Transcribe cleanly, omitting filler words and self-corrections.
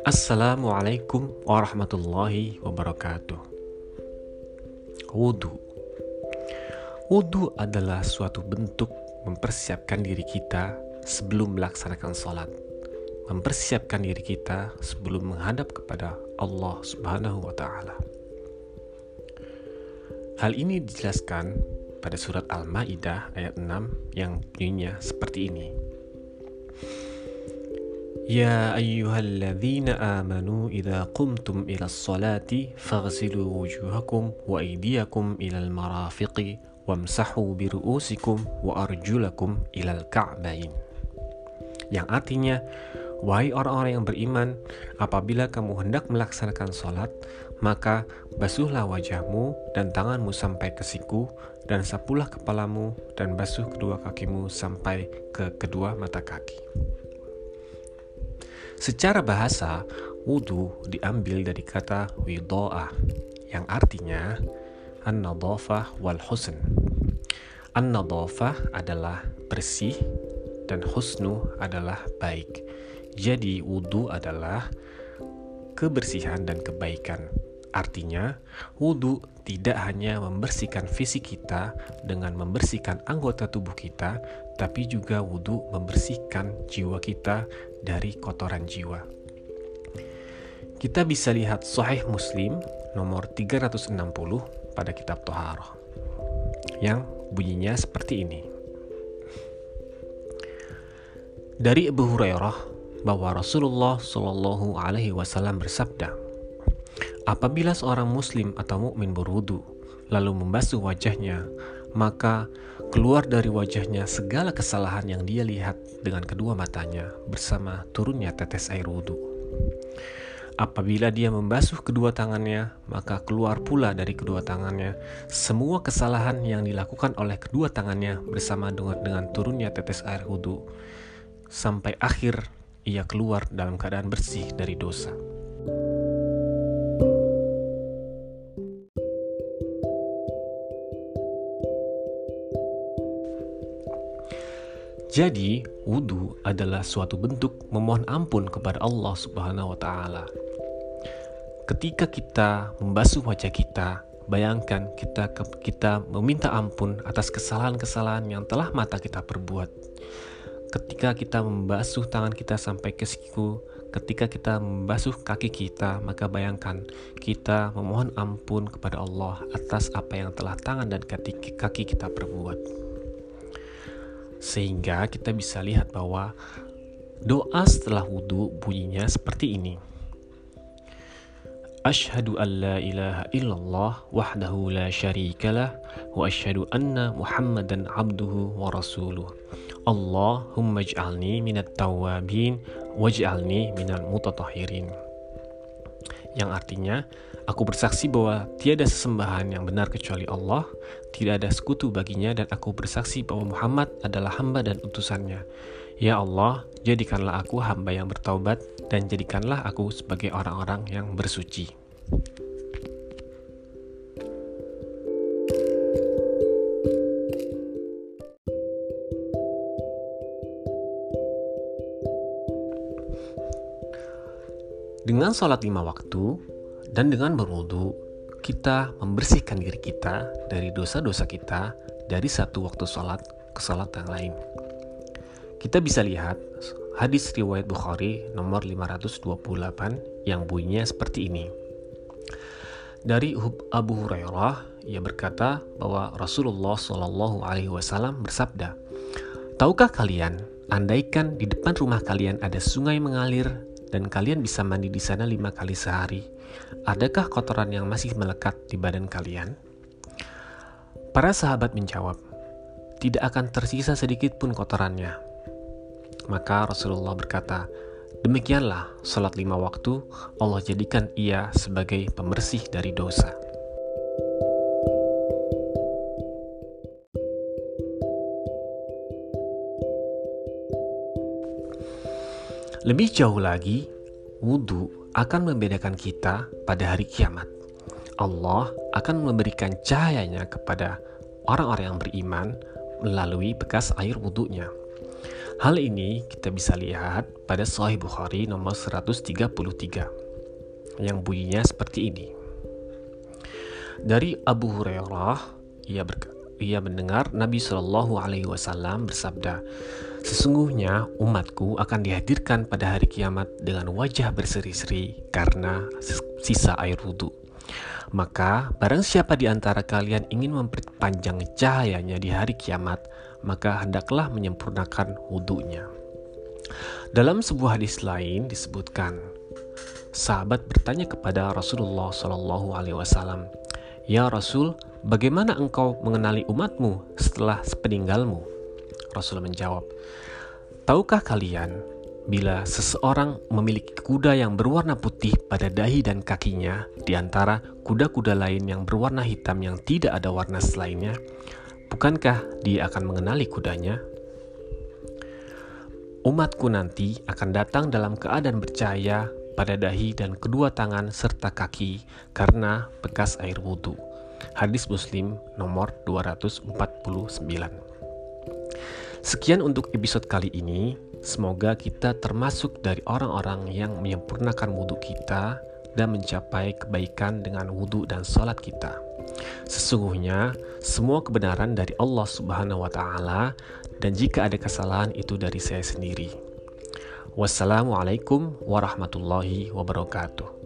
Assalamualaikum warahmatullahi wabarakatuh. Wudhu. Wudhu adalah suatu bentuk mempersiapkan diri kita sebelum melaksanakan sholat. Mempersiapkan diri kita sebelum menghadap kepada Allah Subhanahu wa Ta'ala. Hal ini dijelaskan pada surat Al-Maidah ayat 6 yang bunyinya seperti ini. Ya ayyuhalladzina amanu idza qumtum ilas salati faghsilu wujuhakum wa aydiyakum ilal marafiqi wamsahu biru'usikum wa arjulakum ilal ka'bain. Yang artinya, wahai orang-orang yang beriman, apabila kamu hendak melaksanakan salat, maka basuhlah wajahmu dan tanganmu sampai ke siku, dan sapulah kepalamu dan basuh kedua kakimu sampai ke kedua mata kaki. Secara bahasa, wudhu diambil dari kata widha'ah, yang artinya an-nadhafah wal husn. An-nadhafah adalah bersih dan husnu adalah baik. Jadi wudhu adalah kebersihan dan kebaikan. Artinya, wudhu tidak hanya membersihkan fisik kita dengan membersihkan anggota tubuh kita, tapi juga wudhu membersihkan jiwa kita dari kotoran jiwa. Kita bisa lihat Sahih Muslim nomor 360 pada kitab Thaharah yang bunyinya seperti ini. Dari Abu Hurairah bahwa Rasulullah Shallallahu Alaihi Wasallam bersabda, apabila seorang muslim atau mukmin berwudu lalu membasuh wajahnya, maka keluar dari wajahnya segala kesalahan yang dia lihat dengan kedua matanya bersama turunnya tetes air wudu. Apabila dia membasuh kedua tangannya, maka keluar pula dari kedua tangannya semua kesalahan yang dilakukan oleh kedua tangannya bersama dengan turunnya tetes air wudu, sampai akhir ia keluar dalam keadaan bersih dari dosa. Jadi, wudhu adalah suatu bentuk memohon ampun kepada Allah Subhanahu wa Ta'ala. Ketika kita membasuh wajah kita, bayangkan kita meminta ampun atas kesalahan-kesalahan yang telah mata kita perbuat. Ketika kita membasuh tangan kita sampai ke siku, ketika kita membasuh kaki kita, maka bayangkan kita memohon ampun kepada Allah atas apa yang telah tangan dan kaki kita perbuat. Sehingga kita bisa lihat bahwa doa setelah wudhu bunyinya seperti ini. Asyhadu an la ilaha illallah wahdahu la syarikalah wa asyhadu anna Muhammadan abduhu wa rasuluh. Allahumma ij'alni minat tawwabin waj'alni minal mutatahhirin. Yang artinya, aku bersaksi bahwa tiada sesembahan yang benar kecuali Allah, tidak ada sekutu baginya, dan aku bersaksi bahwa Muhammad adalah hamba dan utusannya. Ya Allah, jadikanlah aku hamba yang bertaubat, dan jadikanlah aku sebagai orang-orang yang bersuci. Dengan sholat 5 waktu dan dengan berwudu, kita membersihkan diri kita dari dosa-dosa kita dari satu waktu sholat ke sholat yang lain. Kita bisa lihat hadis riwayat Bukhari nomor 528 yang bunyinya seperti ini. Dari Abu Hurairah, ia berkata bahwa Rasulullah Shallallahu Alaihi Wasallam bersabda, tahukah kalian, andaikan di depan rumah kalian ada sungai mengalir dan kalian bisa mandi di sana 5 kali sehari, adakah kotoran yang masih melekat di badan kalian? Para sahabat menjawab, tidak akan tersisa sedikit pun kotorannya. Maka Rasulullah berkata, demikianlah sholat 5 waktu Allah jadikan ia sebagai pembersih dari dosa. Lebih jauh lagi, wudhu akan membedakan kita pada hari kiamat. Allah akan memberikan cahayanya kepada orang-orang yang beriman melalui bekas air wudhunya. Hal ini kita bisa lihat pada Sahih Bukhari nomor 133 yang bunyinya seperti ini. Dari Abu Hurairah, ia mendengar Nabi Shallallahu Alaihi Wasallam bersabda, "Sesungguhnya umatku akan dihadirkan pada hari kiamat dengan wajah berseri-seri karena sisa air wudhu. Maka barang siapa di antara kalian ingin memperpanjang cahayanya di hari kiamat, maka hendaklah menyempurnakan wudhunya." Dalam sebuah hadis lain disebutkan, sahabat bertanya kepada Rasulullah Shallallahu Alaihi Wasallam, "Ya Rasul, bagaimana engkau mengenali umatmu setelah sepeninggalmu?" Rasul menjawab, "Tahukah kalian, bila seseorang memiliki kuda yang berwarna putih pada dahi dan kakinya, di antara kuda-kuda lain yang berwarna hitam yang tidak ada warna selainnya, bukankah dia akan mengenali kudanya? Umatku nanti akan datang dalam keadaan bercahaya pada dahi dan kedua tangan serta kaki karena bekas air wudhu." Hadis Muslim nomor 249. Sekian untuk episode kali ini. Semoga kita termasuk dari orang-orang yang menyempurnakan wudhu kita dan mencapai kebaikan dengan wudhu dan sholat kita. Sesungguhnya semua kebenaran dari Allah Subhanahu wa Ta'ala, dan jika ada kesalahan itu dari saya sendiri. Wassalamualaikum warahmatullahi wabarakatuh.